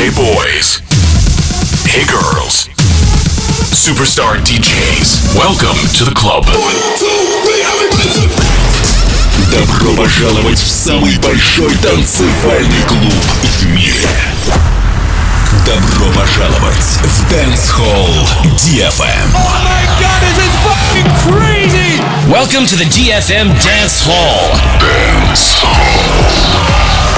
Hey boys. Hey girls. Superstar DJs. Welcome to the club. Добро пожаловать в самый большой танцевальный клуб в мире. Добро пожаловать в Dance Hall DFM. Oh my god, this is fucking crazy! Welcome to the DFM Dance Hall. Dance Hall.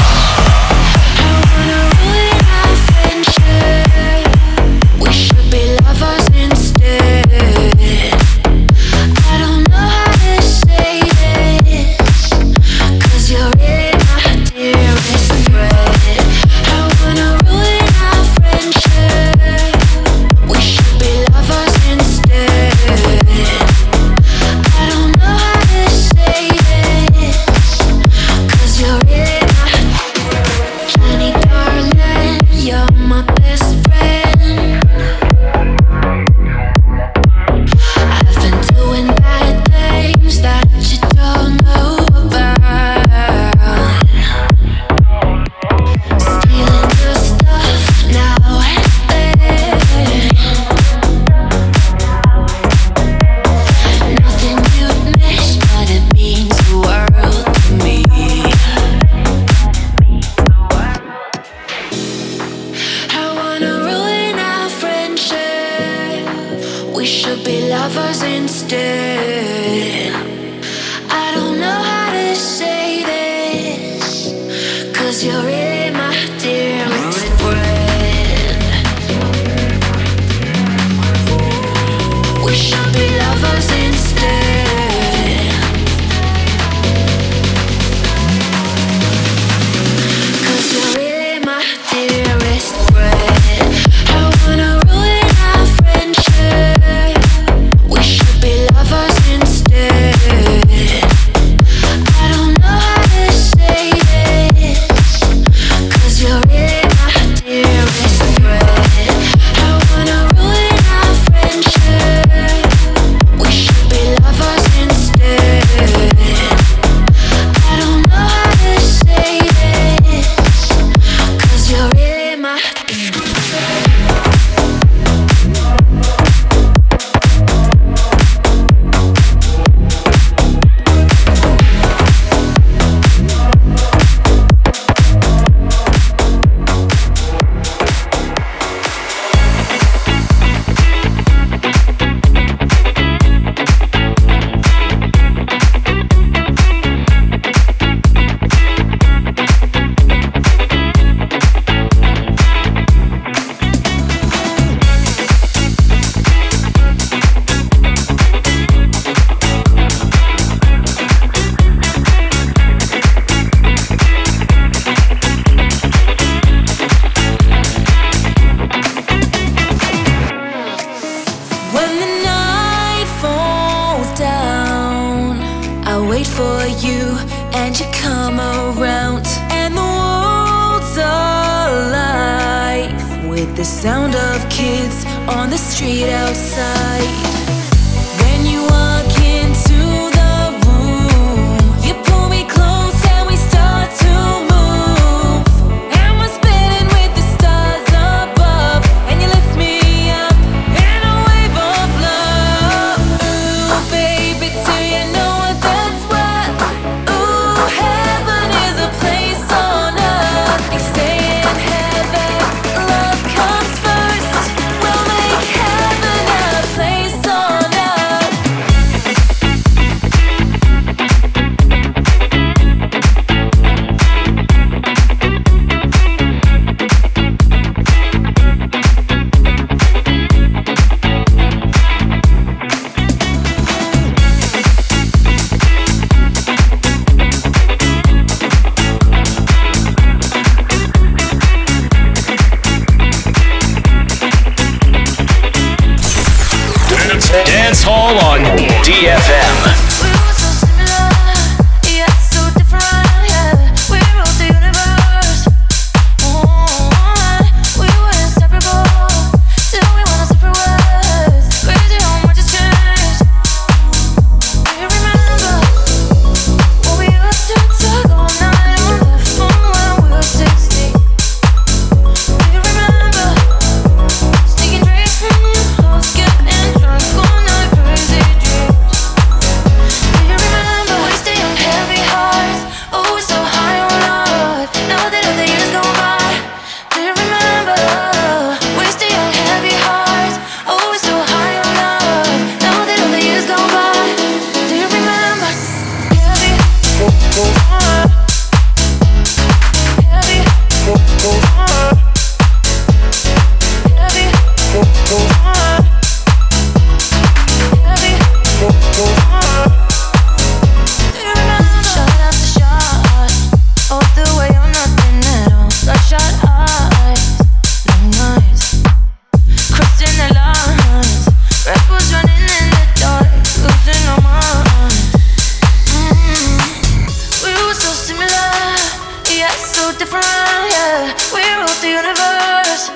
Dance Hall on DFM. Remember different, yeah. We ruled the universe.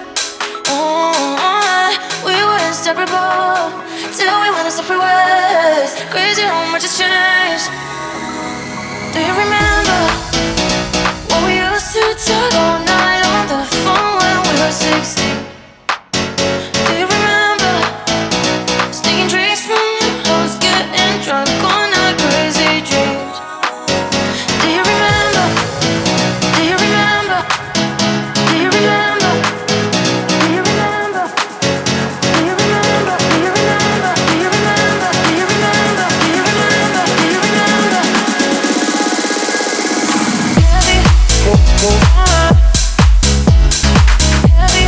We were inseparable till we went our separate ways. Crazy how much has changed. Do you remember when we used to talk all night on the phone when we were 16? Do you remember sneaking drinks from your house, getting drunk on our crazy dreams? Do you remember? Do you remember? Do you remember? Do you remember? Do you remember? Do you remember? Do you remember? Do you remember? Do you remember? Do you remember? Heavy, heavy,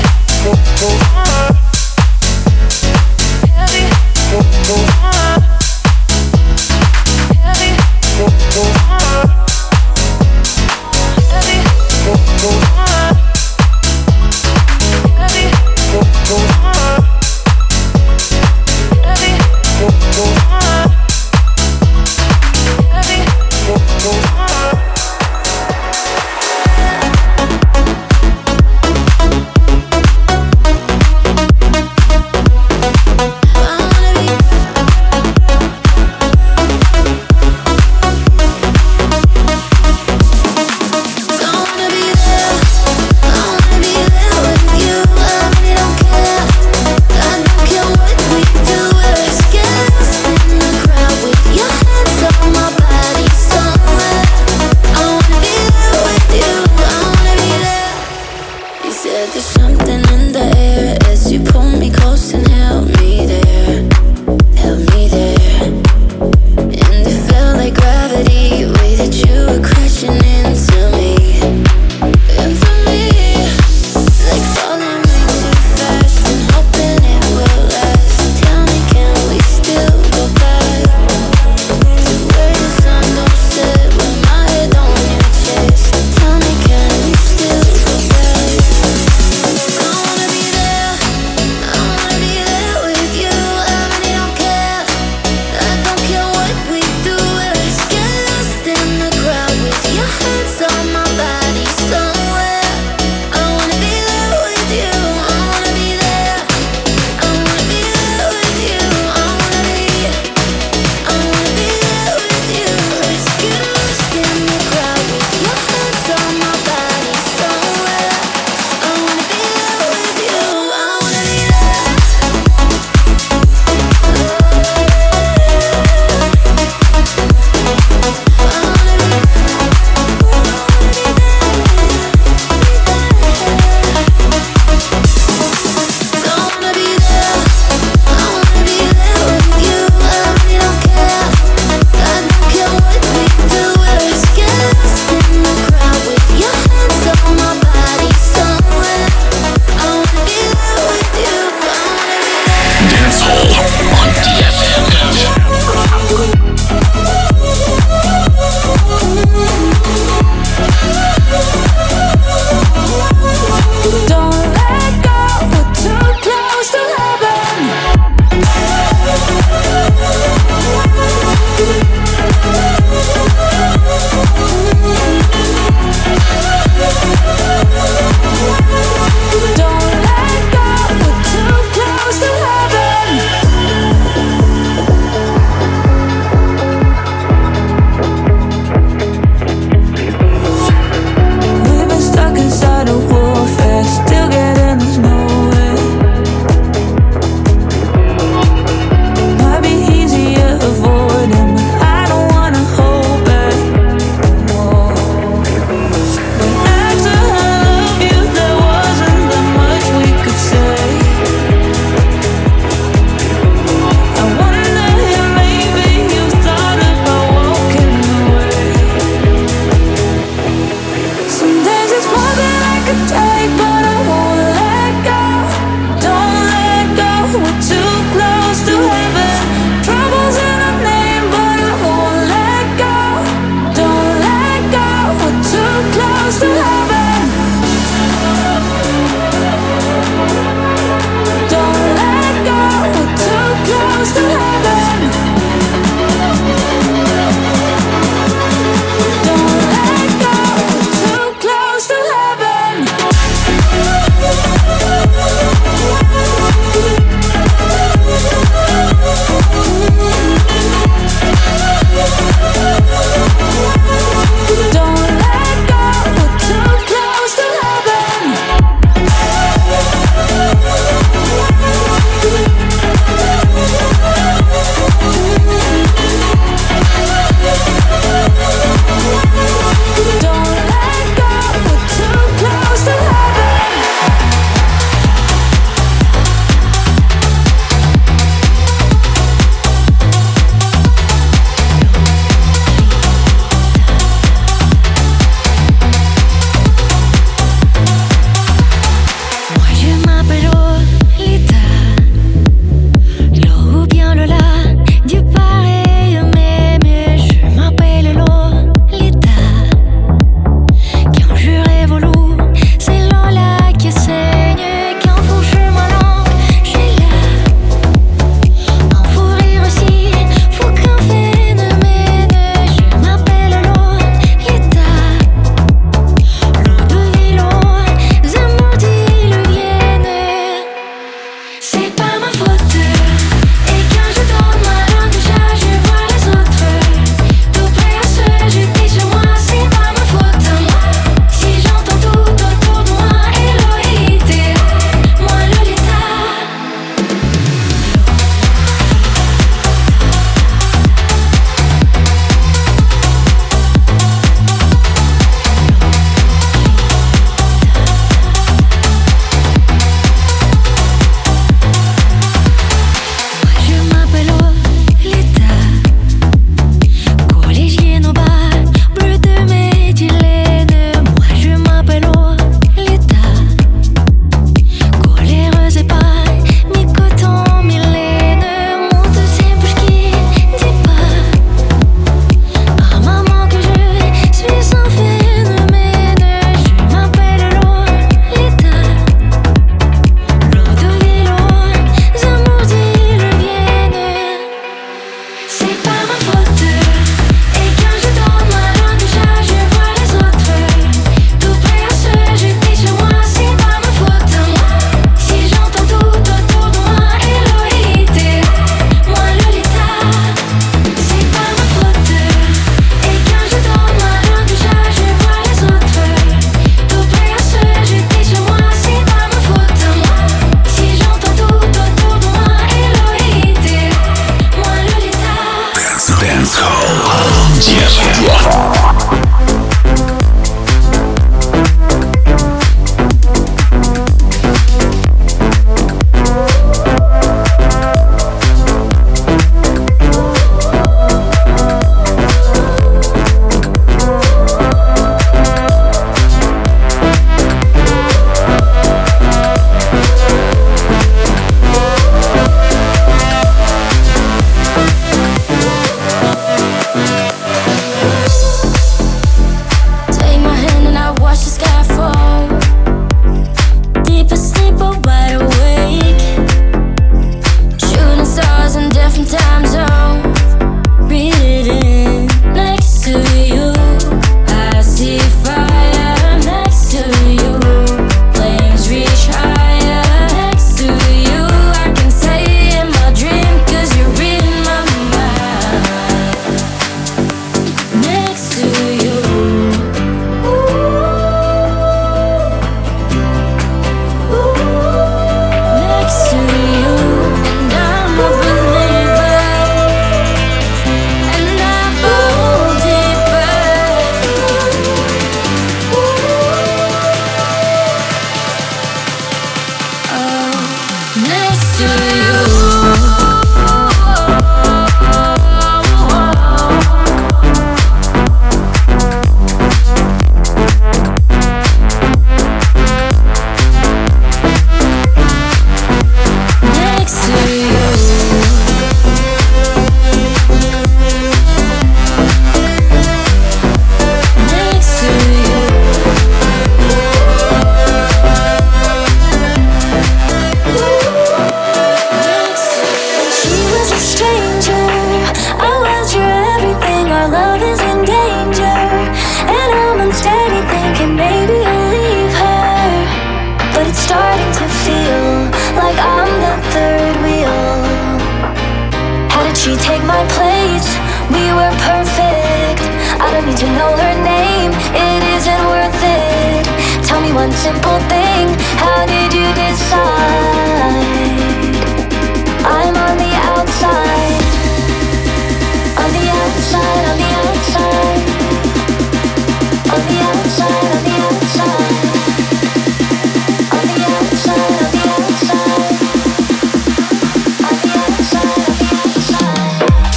We were perfect. I don't need to know her name. It isn't worth it. Tell me one simple thing. How did you decide? I'm on the outside. On the outside, on the outside. On the outside, on the outside. On the outside, on the outside. On the outside, on the outside.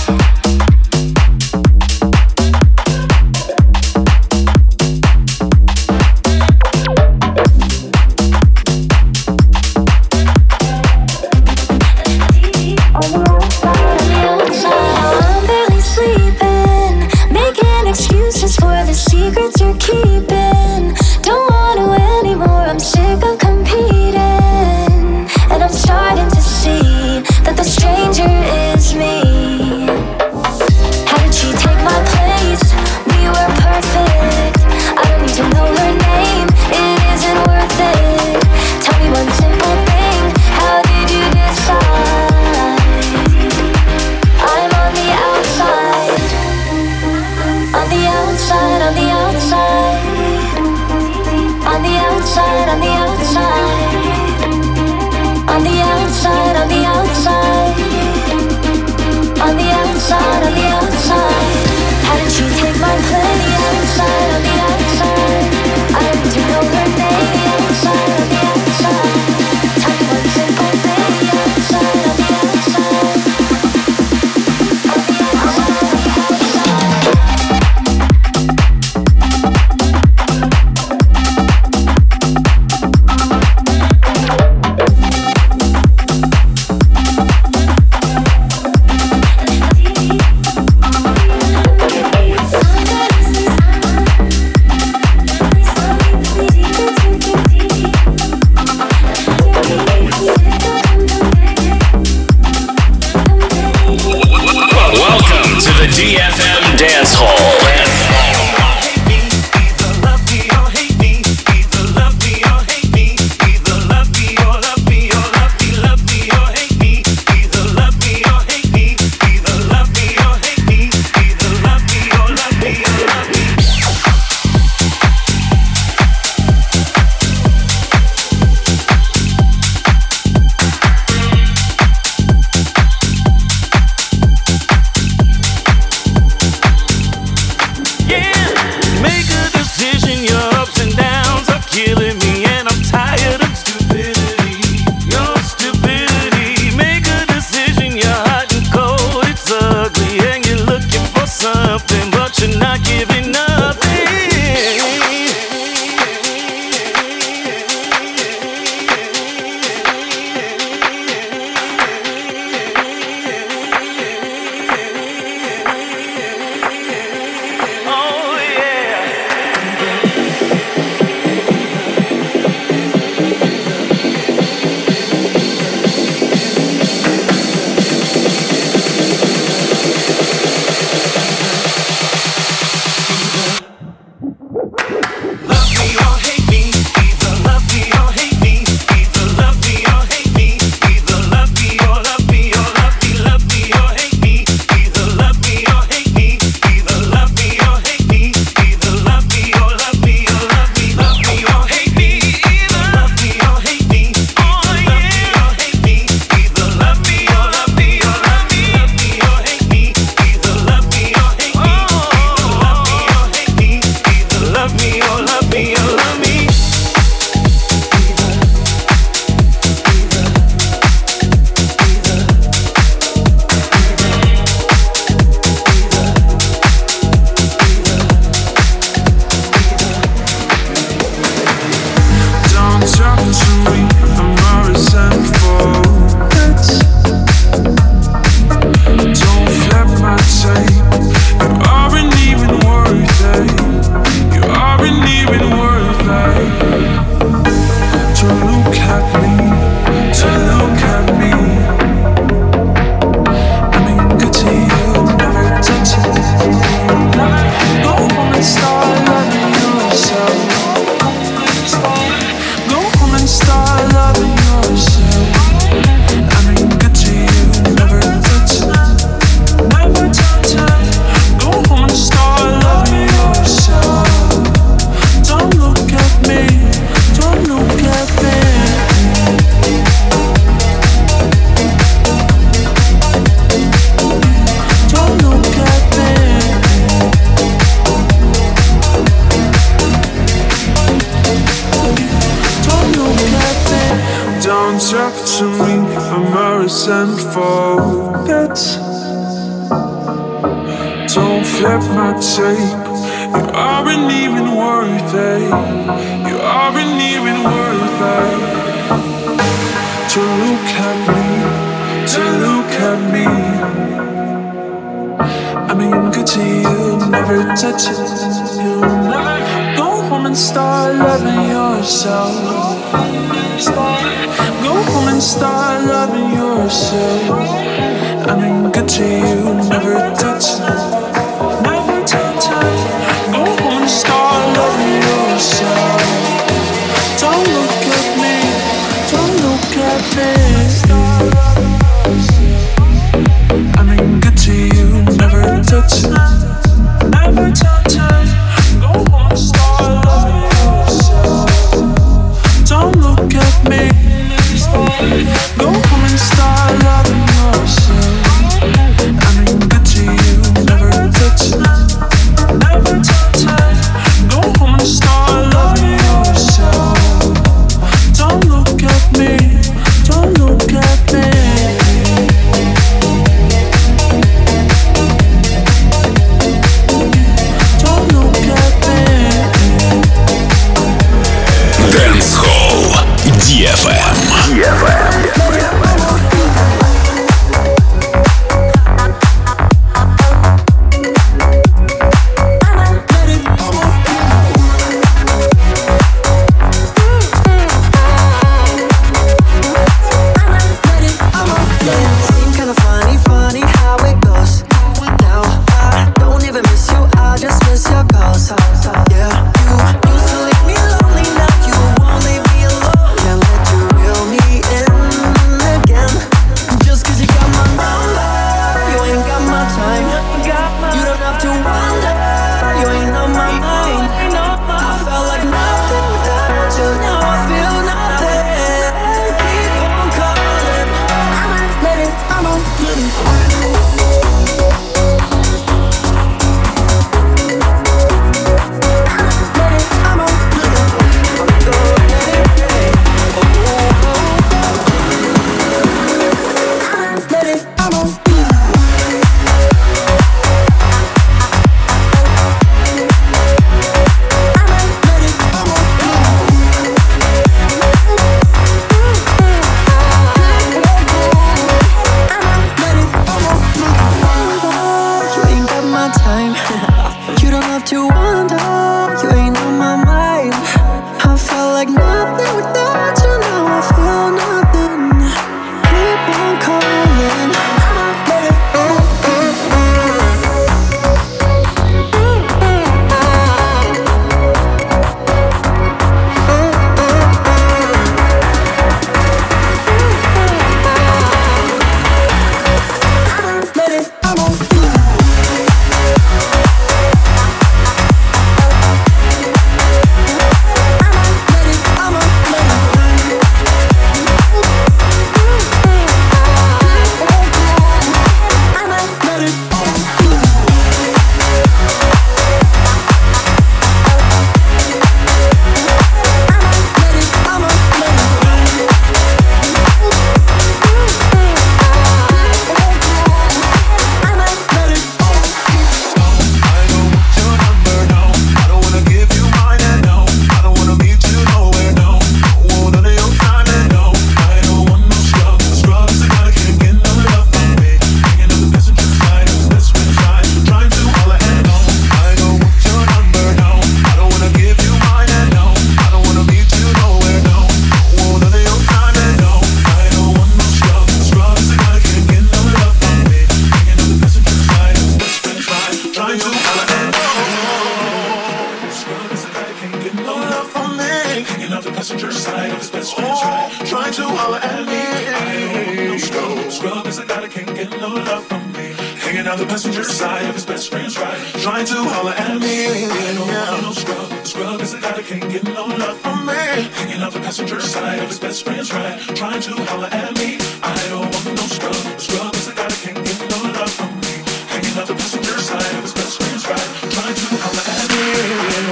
I'm barely sleeping, making excuses for the secrets you're keeping. Don't want to anymore, I'm sick of competing. And I'm starting to see that the stranger is me. How did she take my place? We were perfect. I don't need to know her name, it isn't worth it. Tell me one simple thing, how did you decide? I'm on the outside. On the outside, on the outside. On the outside, on the outside. On the outside, on the outside. On the outside, on the outside. How did she take my place? Outside, on the outside. I don't need to know her name. Outside, on the outside. Tell me one simple thing. Outside, on the outside. On the outside, on the outside. contact to me, embarrassing forget. Don't flip my tape. You aren't even worth it. You aren't even worth it. To look at me, to look at me. I mean, good to you, never touch it. You never go home and start loving yourself. Go home and start loving yourself. I mean, good to you, never touch it. Never touch it. Go home and start loving yourself. Don't look at me, don't look at me. I mean, good to you, never touch it. Never touch it. Go home and start loving yourself. Don't look at me. Go home and start loving yourself. I mean, good to you, never touch it. Never touch it. Go home and start loving yourself. Don't look at me. Don't look at me. Don't look at me. Dance Hall DFM.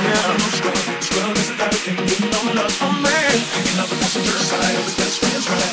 Scrub is a guy that can't get no love from me. Hanging out the passenger side of his best friend's ride.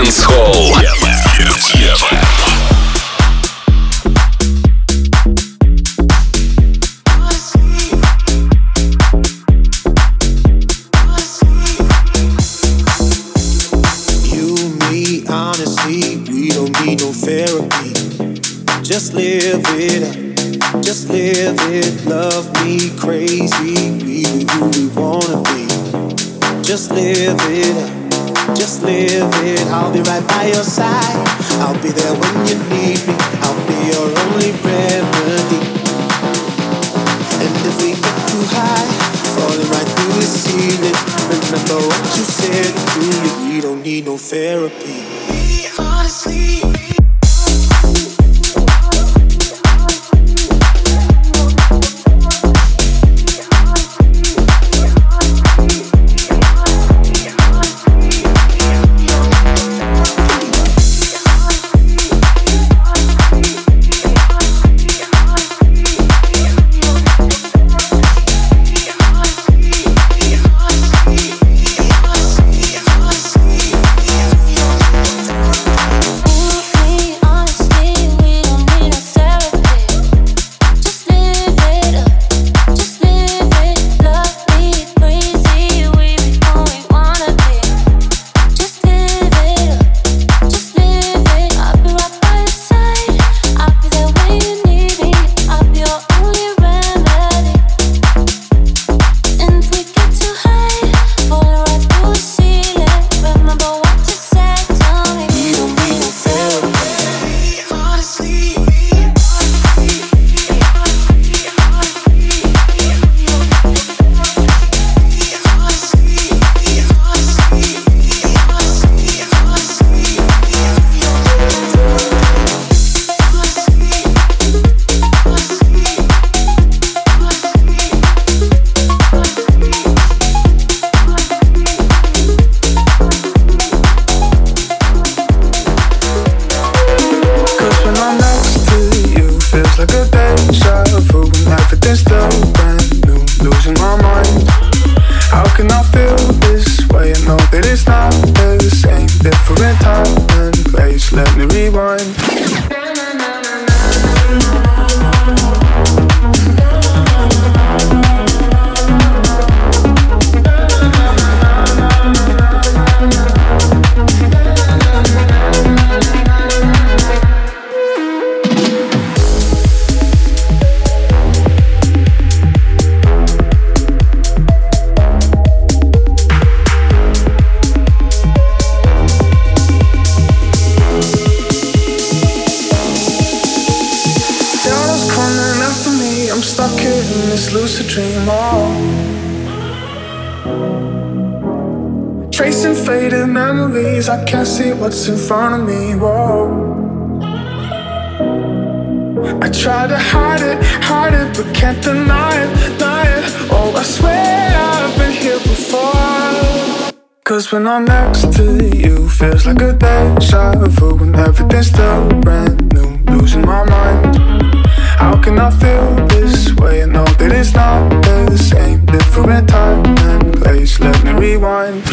Dance Hall. Just live it up, just live it, love me crazy, we be who we wanna be. Just live it up, just live it, I'll be right by your side, I'll be there when you need me, I'll be your only remedy. And if we get too high, falling right through the ceiling, remember what you said to me, we don't need no therapy. Honestly, I can't see what's in front of me, whoa. I try to hide it, but can't deny it. Oh, I swear I've been here before. Cause when I'm next to you, feels like a deja vu. When everything's still brand new, losing my mind. How can I feel this way? I know that it's not the same. Different time and place, let me rewind.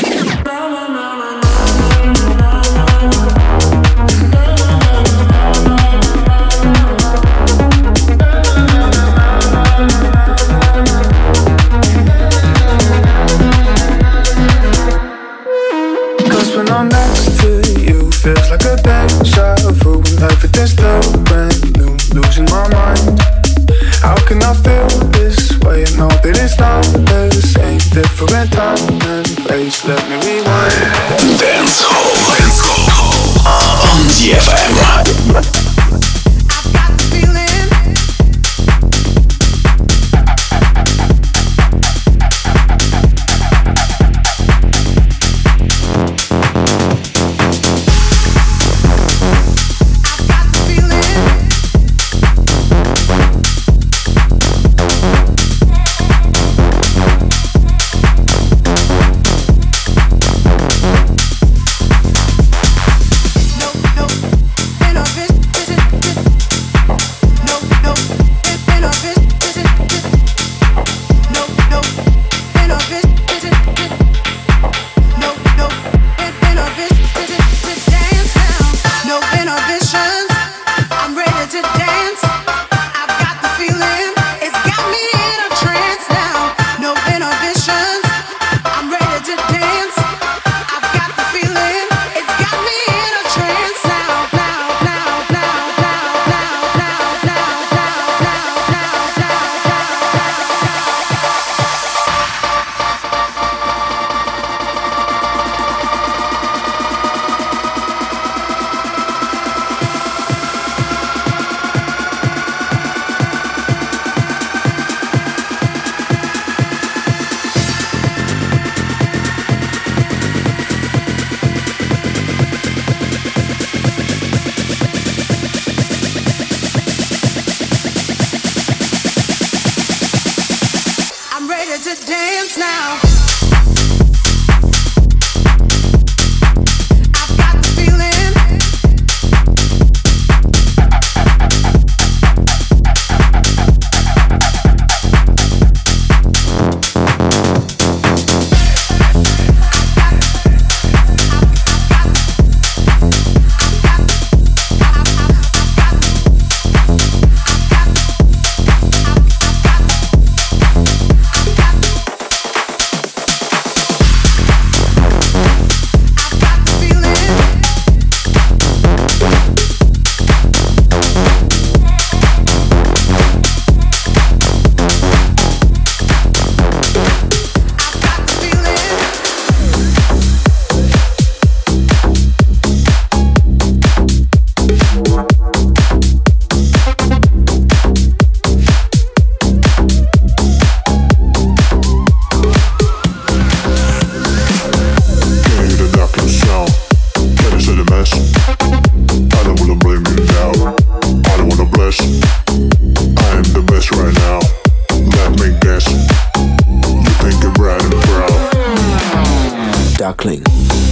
When I'm next to you, feels like a deja vu. When everything's still brand new, losing my mind. How can I feel this way? I know that it's not the same. Different time and place, let me rewind. Dance Hall on DFM.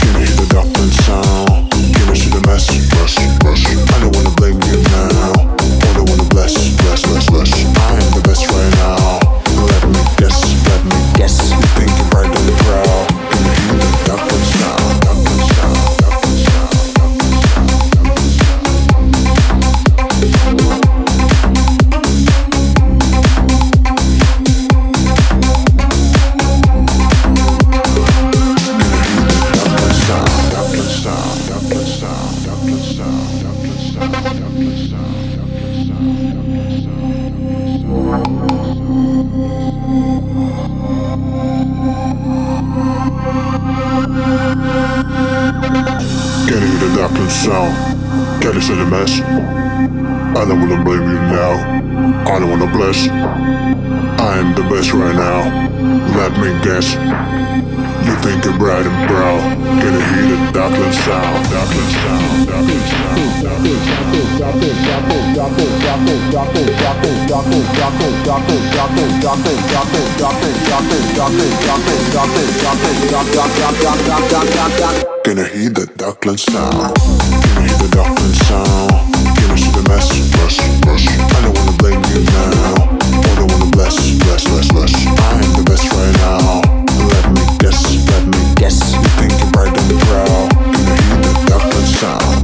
Gonna hear the Duckland sound. Gonna hear the Duckland sound. Gonna see the mess, rush, rush. I don't wanna blame you now. I don't wanna bless, bless, bless, bless. I am the best right now. Let me guess, let me guess. You think you're bright and proud. Gonna hear the Duckland sound.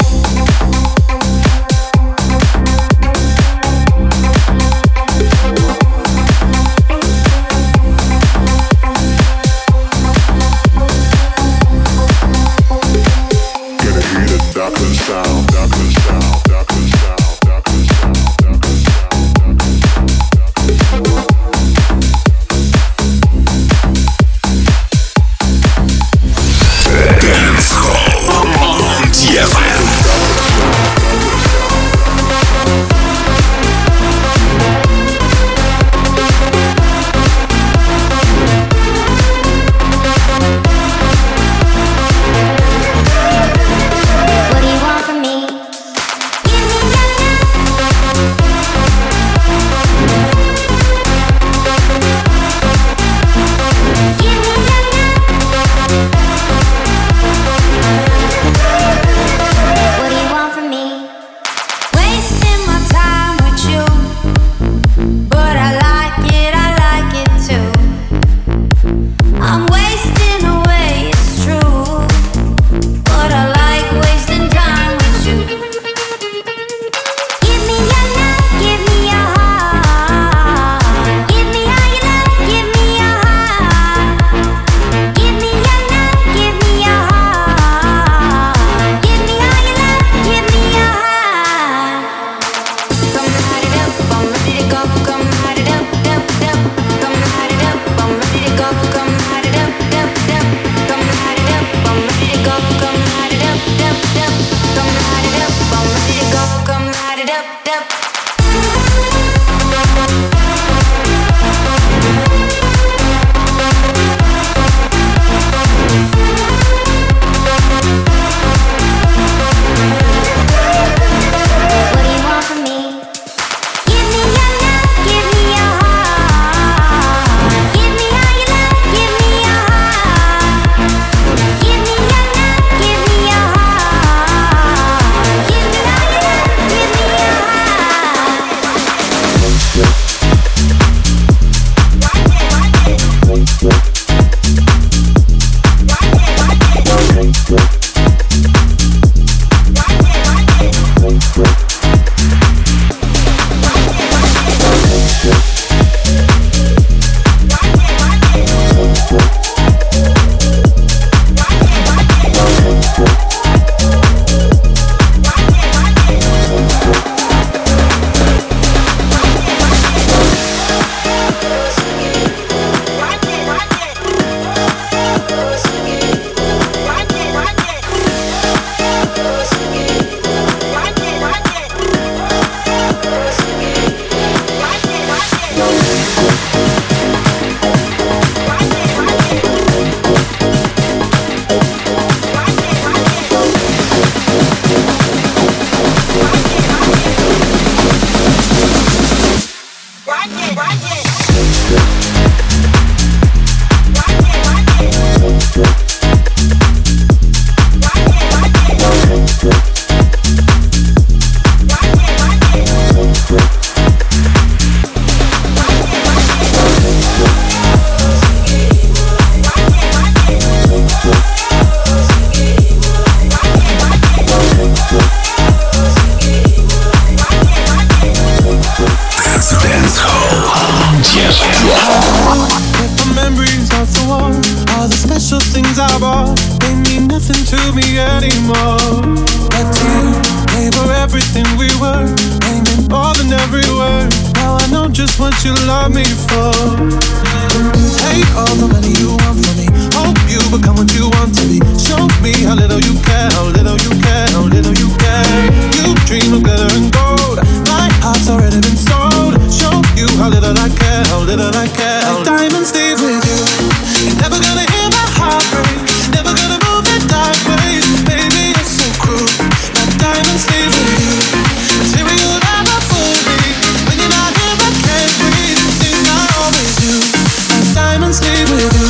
me anymore. But you gave her everything we were, ain't more than every word. Now I know just what you love me for. Take all the money you want from me. Hope you become what you want to be. Show me how little you care, how little you care, how little you care. You dream of glitter and gold. My heart's already been sold. Show you how little I care, how little I care. Like diamonds leave with you. You're never gonna hear my heart break. Never gonna move in dark ways. Baby, you're so cruel. Like diamonds leave with you. Material never fool me. When you're not here, I can't breathe. Think I always do. Like diamonds leave with you.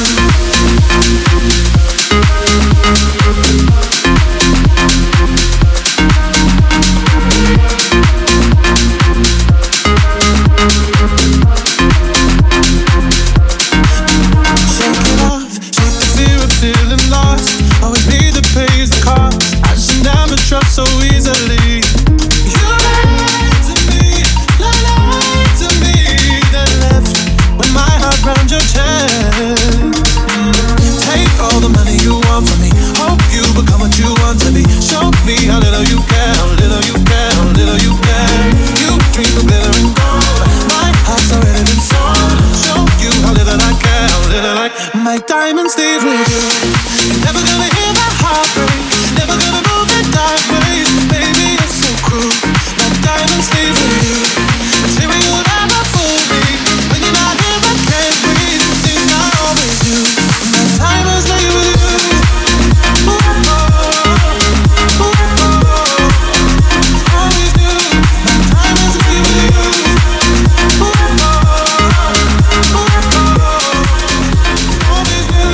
So easily, you lied to me, then left with my heart round your chest. Take all the money you want from me. Hope you become what you want to be. Show me how little you care, how little you care, how little you care. You dream of glitter and gold. My heart's already been sold. Show you how little I care, how little I. My diamonds leave with you. You're never gonna hear my heart break. Never gonna move in dark ways. Baby, you're so cruel. My diamonds leave with you. Material never fool me. When you're not here, I can't breathe. Think I always do. My diamonds leave with you. Ooh, oh, ooh, oh. Always do. My diamonds leave with you. Ooh, oh, ooh, oh. Always do.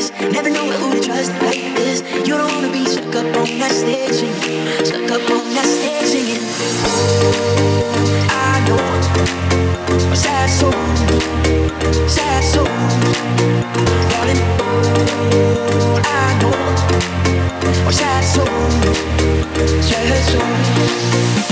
this. Never know who to trust like this. You don't wanna be stuck up on that stage singing, stuck up on that stage singing. I know a sad soul, darling. I know a sad soul, sad soul.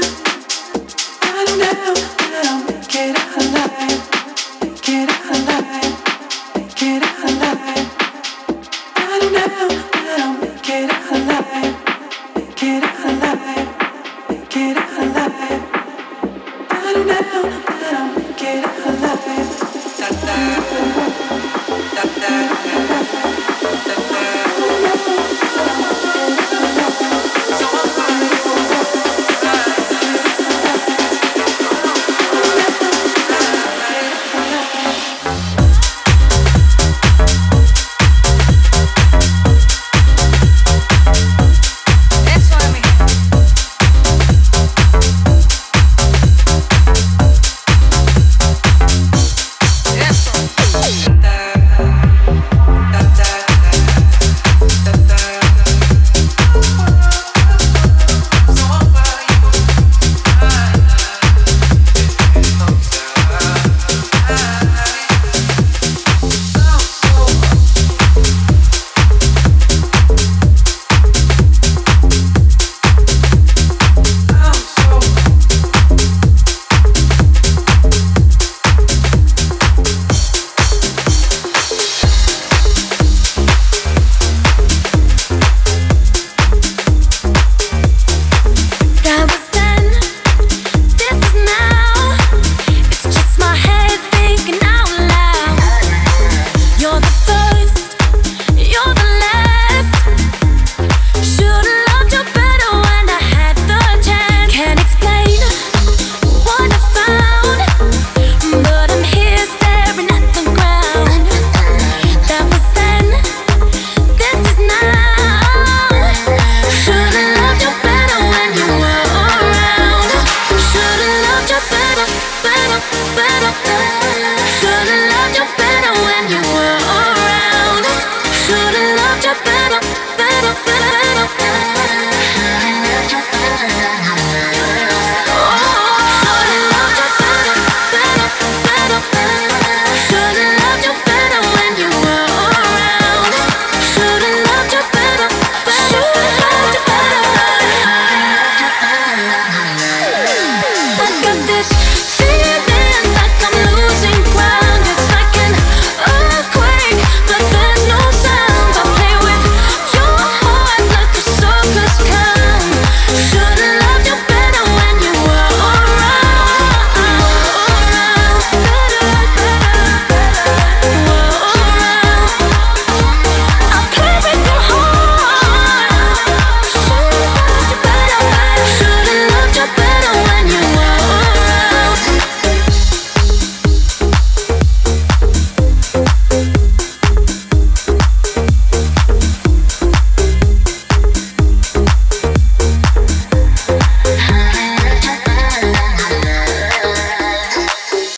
Alive, make it alive.